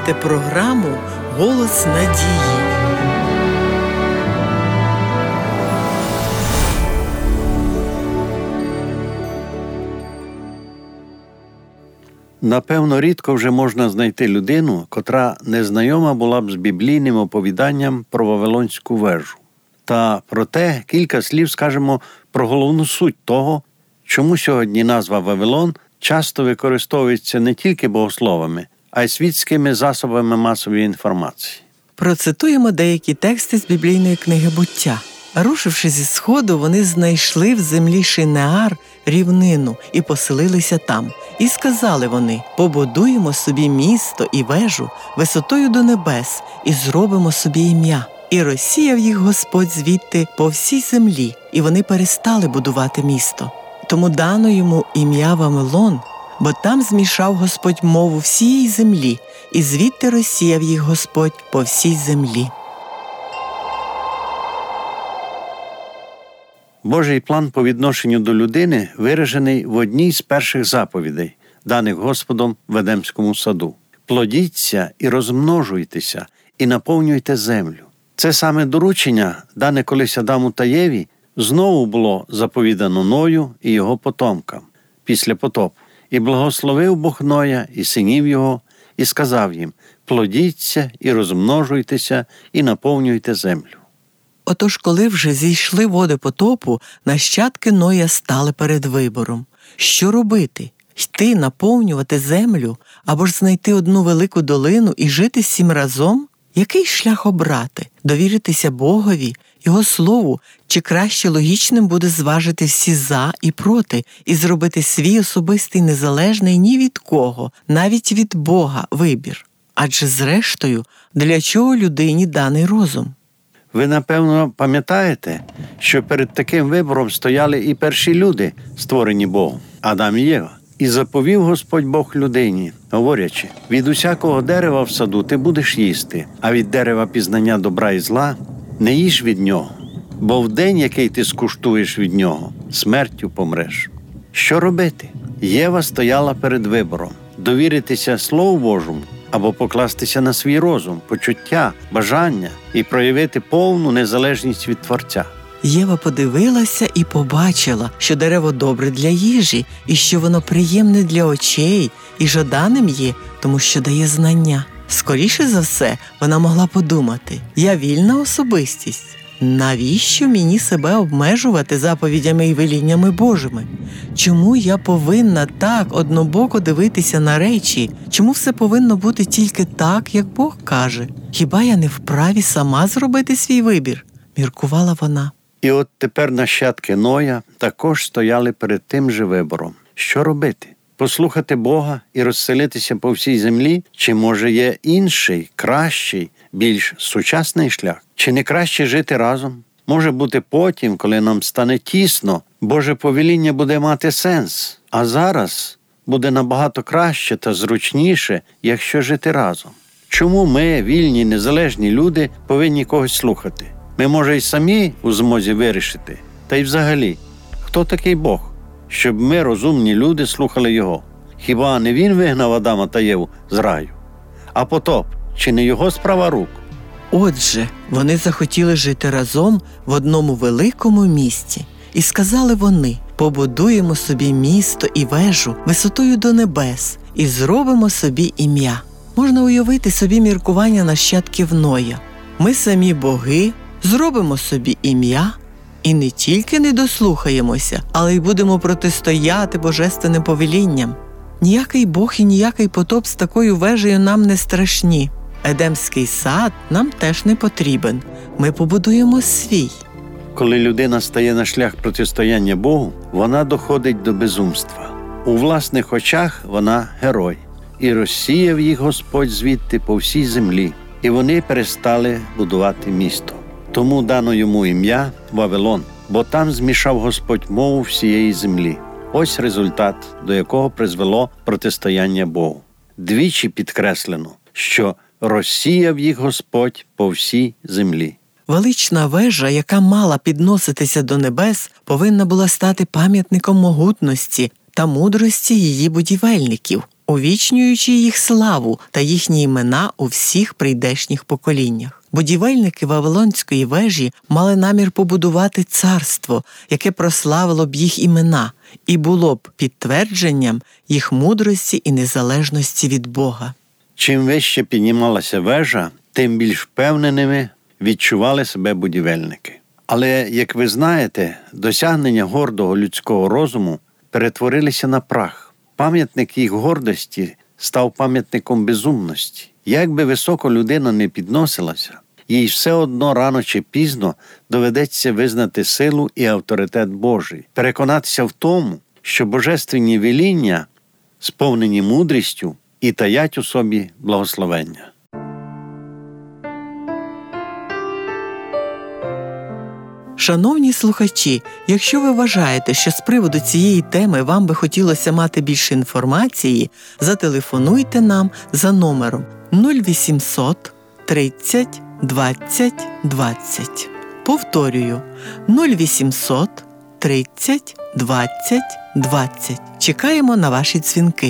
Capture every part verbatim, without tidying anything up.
слухаєте програму «Голос надії». Напевно, рідко вже можна знайти людину, котра не знайома була б з біблійним оповіданням про Вавилонську вежу. Та проте кілька слів скажемо про головну суть того, чому сьогодні назва Вавилон часто використовується не тільки богословами, а й світськими засобами масової інформації. Процитуємо деякі тексти з біблійної книги «Буття». Рушивши зі сходу, вони знайшли в землі Шинеар рівнину і поселилися там. І сказали вони: «Побудуємо собі місто і вежу висотою до небес і зробимо собі ім'я». І розсіяв їх Господь звідти по всій землі, і вони перестали будувати місто. Тому дано йому ім'я Вавилон, бо там змішав Господь мову всієї землі, і звідти розсіяв їх Господь по всій землі. Божий план по відношенню до людини виражений в одній з перших заповідей, даних Господом в Едемському саду. «Плодіться і розмножуйтеся, і наповнюйте землю». Це саме доручення, дане колись Адаму та Єві, знову було заповідано Ною і його потомкам після потопу. «І благословив Бог Ноя і синів його, і сказав їм: плодіться і розмножуйтеся, і наповнюйте землю». Отож, коли вже зійшли води потопу, нащадки Ноя стали перед вибором. Що робити? Йти наповнювати землю, або ж знайти одну велику долину і жити всім разом? Який шлях обрати? Довіритися Богові, Його Слову, чи краще логічним буде зважити всі «за» і «проти» і зробити свій особистий незалежний ні від кого, навіть від Бога, вибір? Адже зрештою, для чого людині даний розум? Ви, напевно, пам'ятаєте, що перед таким вибором стояли і перші люди, створені Богом, Адам і Єва. «І заповів Господь Бог людині, говорячи: від усякого дерева в саду ти будеш їсти, а від дерева пізнання добра і зла не їж від нього, бо в день, який ти скуштуєш від нього, смертю помреш». Що робити? Єва стояла перед вибором – довіритися Слову Божому або покластися на свій розум, почуття, бажання і проявити повну незалежність від Творця. Єва подивилася і побачила, що дерево добре для їжі, і що воно приємне для очей, і жаданим є, тому що дає знання. Скоріше за все, вона могла подумати: я вільна особистість. Навіщо мені себе обмежувати заповідями і веліннями Божими? Чому я повинна так однобоко дивитися на речі? Чому все повинно бути тільки так, як Бог каже? Хіба я не вправі сама зробити свій вибір? Міркувала вона. І от тепер нащадки Ноя також стояли перед тим же вибором. Що робити? Послухати Бога і розселитися по всій землі? Чи, може, є інший, кращий, більш сучасний шлях? Чи не краще жити разом? Може бути потім, коли нам стане тісно, Боже повеління буде мати сенс. А зараз буде набагато краще та зручніше, якщо жити разом. Чому ми, вільні, незалежні люди, повинні когось слухати? Ми, може, й самі у змозі вирішити. Та й взагалі, хто такий Бог, щоб ми, розумні люди, слухали Його? Хіба не Він вигнав Адама та Єву з раю? А потоп, чи не Його справа рук? Отже, вони захотіли жити разом в одному великому місті. І сказали вони: побудуємо собі місто і вежу висотою до небес і зробимо собі ім'я. Можна уявити собі міркування нащадків Ноя. Ми самі боги, зробимо собі ім'я і не тільки не дослухаємося, але й будемо протистояти божественним повелінням. Ніякий Бог і ніякий потоп з такою вежею нам не страшні. Едемський сад нам теж не потрібен. Ми побудуємо свій. Коли людина стає на шлях протистояння Богу, вона доходить до безумства. У власних очах вона герой. І розсіяв їх Господь звідти по всій землі, і вони перестали будувати місто. Тому дано йому ім'я Вавилон, бо там змішав Господь мову всієї землі. Ось результат, до якого призвело протистояння Богу. Двічі підкреслено, що розсіяв їх Господь по всій землі. Велична вежа, яка мала підноситися до небес, повинна була стати пам'ятником могутності та мудрості її будівельників. увічнюючи їх славу та їхні імена у всіх прийдешніх поколіннях. Будівельники Вавилонської вежі мали намір побудувати царство, яке прославило б їх імена і було б підтвердженням їх мудрості і незалежності від Бога. Чим вище піднімалася вежа, тим більш впевненими відчували себе будівельники. Але, як ви знаєте, досягнення гордого людського розуму перетворилися на прах. Пам'ятник їх гордості став пам'ятником безумності. Як би високо людина не підносилася, їй все одно рано чи пізно доведеться визнати силу і авторитет Божий, переконатися в тому, що божественні веління сповнені мудрістю і таять у собі благословення. Шановні слухачі, якщо ви вважаєте, що з приводу цієї теми вам би хотілося мати більше інформації, зателефонуйте нам за номером нуль вісімсот тридцять двадцять двадцять. Повторюю, нуль вісімсот тридцять двадцять двадцять. Чекаємо на ваші дзвінки.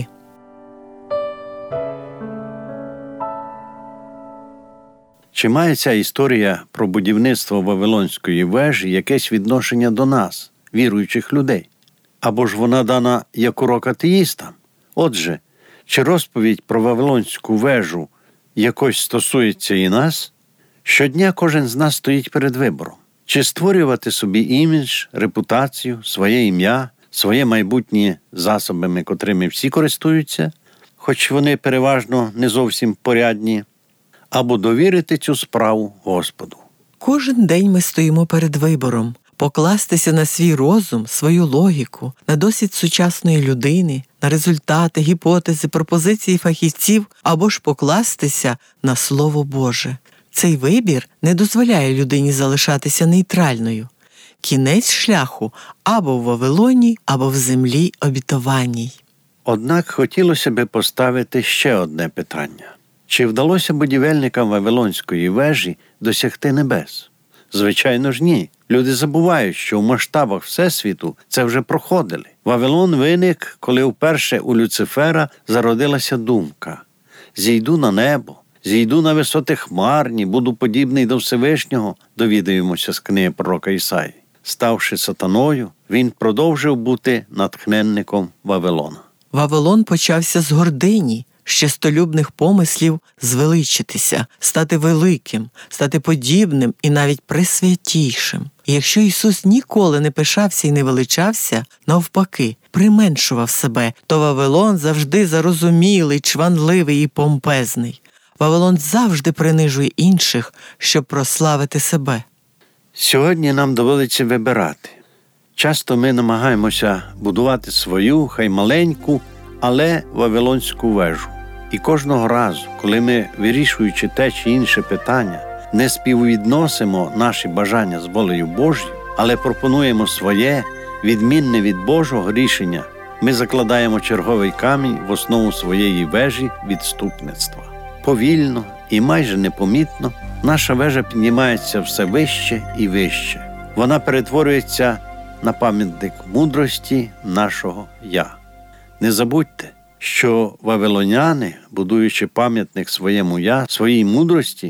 Чи має ця історія про будівництво Вавилонської вежі якесь відношення до нас, віруючих людей? Або ж вона дана як урок атеїстам? Отже, чи розповідь про Вавилонську вежу якось стосується і нас? Щодня кожен з нас стоїть перед вибором. Чи створювати собі імідж, репутацію, своє ім'я, своє майбутнє засобами, котрими всі користуються, хоч вони переважно не зовсім порядні, або довірити цю справу Господу. Кожен день ми стоїмо перед вибором – покластися на свій розум, свою логіку, на досвід сучасної людини, на результати, гіпотези, пропозиції фахівців, або ж покластися на Слово Боже. Цей вибір не дозволяє людині залишатися нейтральною. Кінець шляху або в Вавилоні, або в землі обітованій. Однак хотілося би поставити ще одне питання. Чи вдалося будівельникам Вавилонської вежі досягти небес? Звичайно ж ні. Люди забувають, що в масштабах Всесвіту це вже проходили. Вавилон виник, коли вперше у Люцифера зародилася думка: «Зійду на небо, зійду на висоти хмарні, буду подібний до Всевишнього», довідаємося з книги пророка Ісаї. Ставши сатаною, він продовжив бути натхненником Вавилона. Вавилон почався з гордині, з честолюбних помислів звеличитися, стати великим, стати подібним і навіть пресвятійшим. І якщо Ісус ніколи не пишався і не величався, навпаки, применшував себе, то Вавилон завжди зарозумілий, чванливий і помпезний. Вавилон завжди принижує інших, щоб прославити себе. Сьогодні нам доводиться вибирати. Часто ми намагаємося будувати свою, хай маленьку, але Вавилонську вежу. І кожного разу, коли ми, вирішуючи те чи інше питання, не співвідносимо наші бажання з волею Божою, але пропонуємо своє, відмінне від Божого рішення, ми закладаємо черговий камінь в основу своєї вежі відступництва. Повільно і майже непомітно наша вежа піднімається все вище і вище. Вона перетворюється на пам'ятник мудрості нашого «Я». Не забудьте, що вавилоняни, будуючи пам'ятник своєму «Я», своїй мудрості,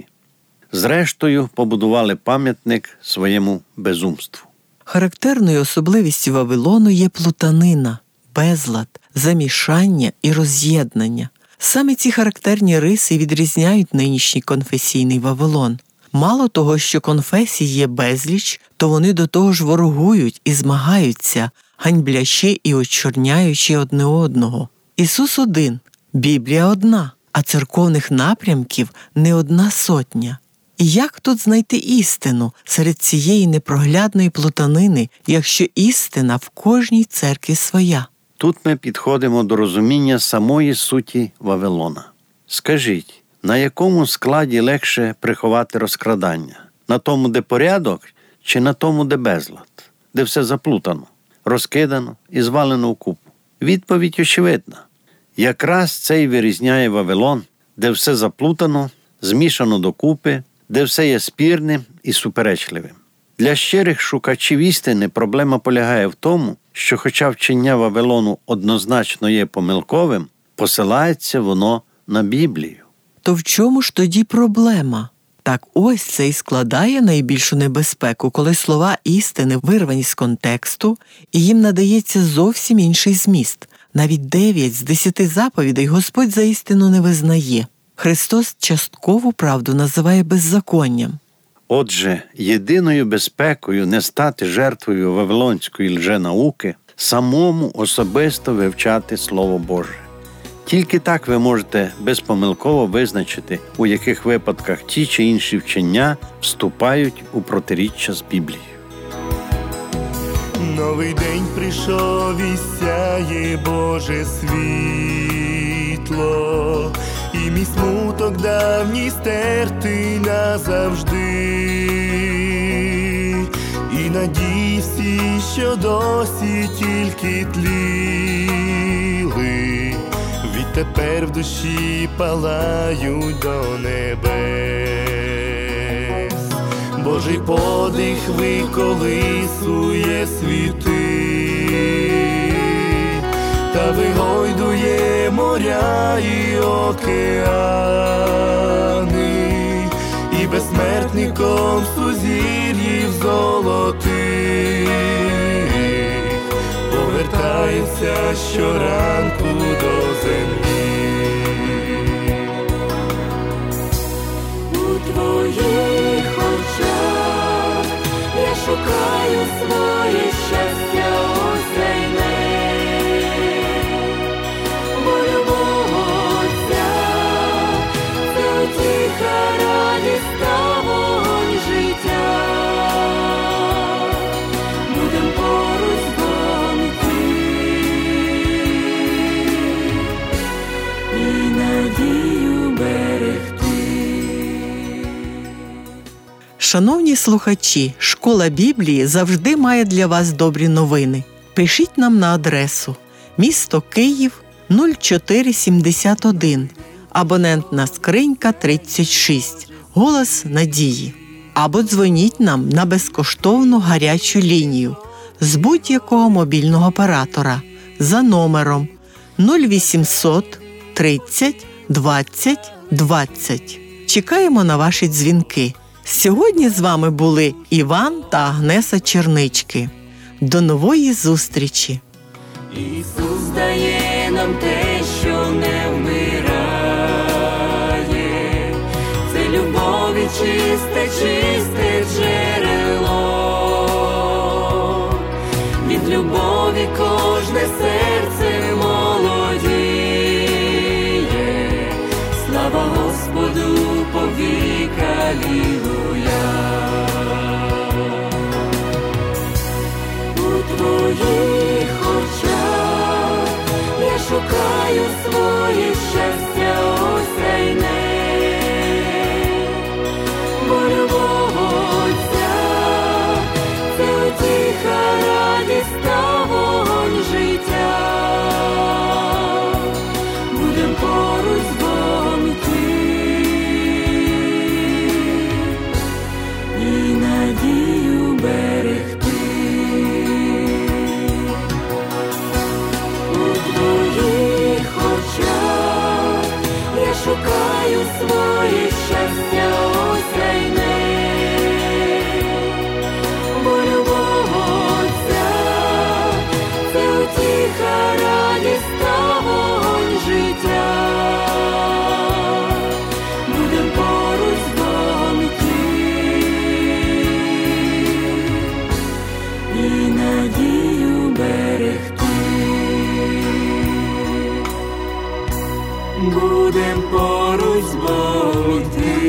зрештою побудували пам'ятник своєму безумству. Характерною особливістю Вавилону є плутанина, безлад, замішання і роз'єднання. Саме ці характерні риси відрізняють нинішній конфесійний Вавилон. Мало того, що конфесій є безліч, то вони до того ж ворогують і змагаються, ганьблячи і очорняючи одне одного. Ісус один, Біблія одна, а церковних напрямків не одна сотня. І як тут знайти істину серед цієї непроглядної плутанини, якщо істина в кожній церкві своя? Тут ми підходимо до розуміння самої суті Вавилона. Скажіть, на якому складі легше приховати розкрадання? На тому, де порядок, чи на тому, де безлад? Де все заплутано, розкидано і звалено вкупу? Відповідь очевидна. Якраз це й вирізняє Вавилон, де все заплутано, змішано докупи, де все є спірним і суперечливим. Для щирих шукачів істини проблема полягає в тому, що хоча вчення Вавилону однозначно є помилковим, Посилається воно на Біблію. То в чому ж тоді проблема? Так ось це і складає найбільшу небезпеку, коли слова істини вирвані з контексту, і їм надається зовсім інший зміст. Навіть дев'ять з десяти заповідей Господь за істину не визнає. Христос часткову правду називає беззаконням. Отже, єдиною безпекою не стати жертвою вавилонської лженауки – самому особисто вивчати Слово Боже. Тільки так ви можете безпомилково визначити, у яких випадках ті чи інші вчення вступають у протиріччя з Біблією. Новий день прийшов і сяє Боже світло, і мій смуток давній стертий назавжди, і надії всі, що досі тільки тліли, відтепер в душі палають до небес. Божий подих виколисує світи та вигойдує моря і океани, і безсмертником сузір'їв золотих повертається щоранку до землі. У твоїх очах я шукаю своє щастя осяйне, бо любов Отця – це утіха, радість та вогонь життя. Будем поруч з Богом йти і надію берегти. Шановні слухачі, Школа Біблії завжди має для вас добрі новини. Пишіть нам на адресу місто Київ нуль чотири сімдесят один, абонентна скринька тридцять шість, Голос Надії. Або дзвоніть нам на безкоштовну гарячу лінію з будь-якого мобільного оператора за номером нуль вісімсот тридцять двадцять двадцять. Чекаємо на ваші дзвінки. Сьогодні з вами були Іван та Агнеса Чернички. До нової зустрічі! Ісус дає нам те, що не вмирає. Це любові чисте, чисте джерело. Від любові кожне серце молодіє. Слава Господу повік, алілуя. У твоїх очах я шукаю своє щастя осяйне, бо любов Отця – це утіха, радість та вогонь життя. Будем поруч з Богом йти і надію берегти. Шукаю своє щастя осяйне, бо любов Отця – це утіха, радість та вогонь життя. Будем поруч з Богом йти і надію берегти. Будем поруч з Богом йти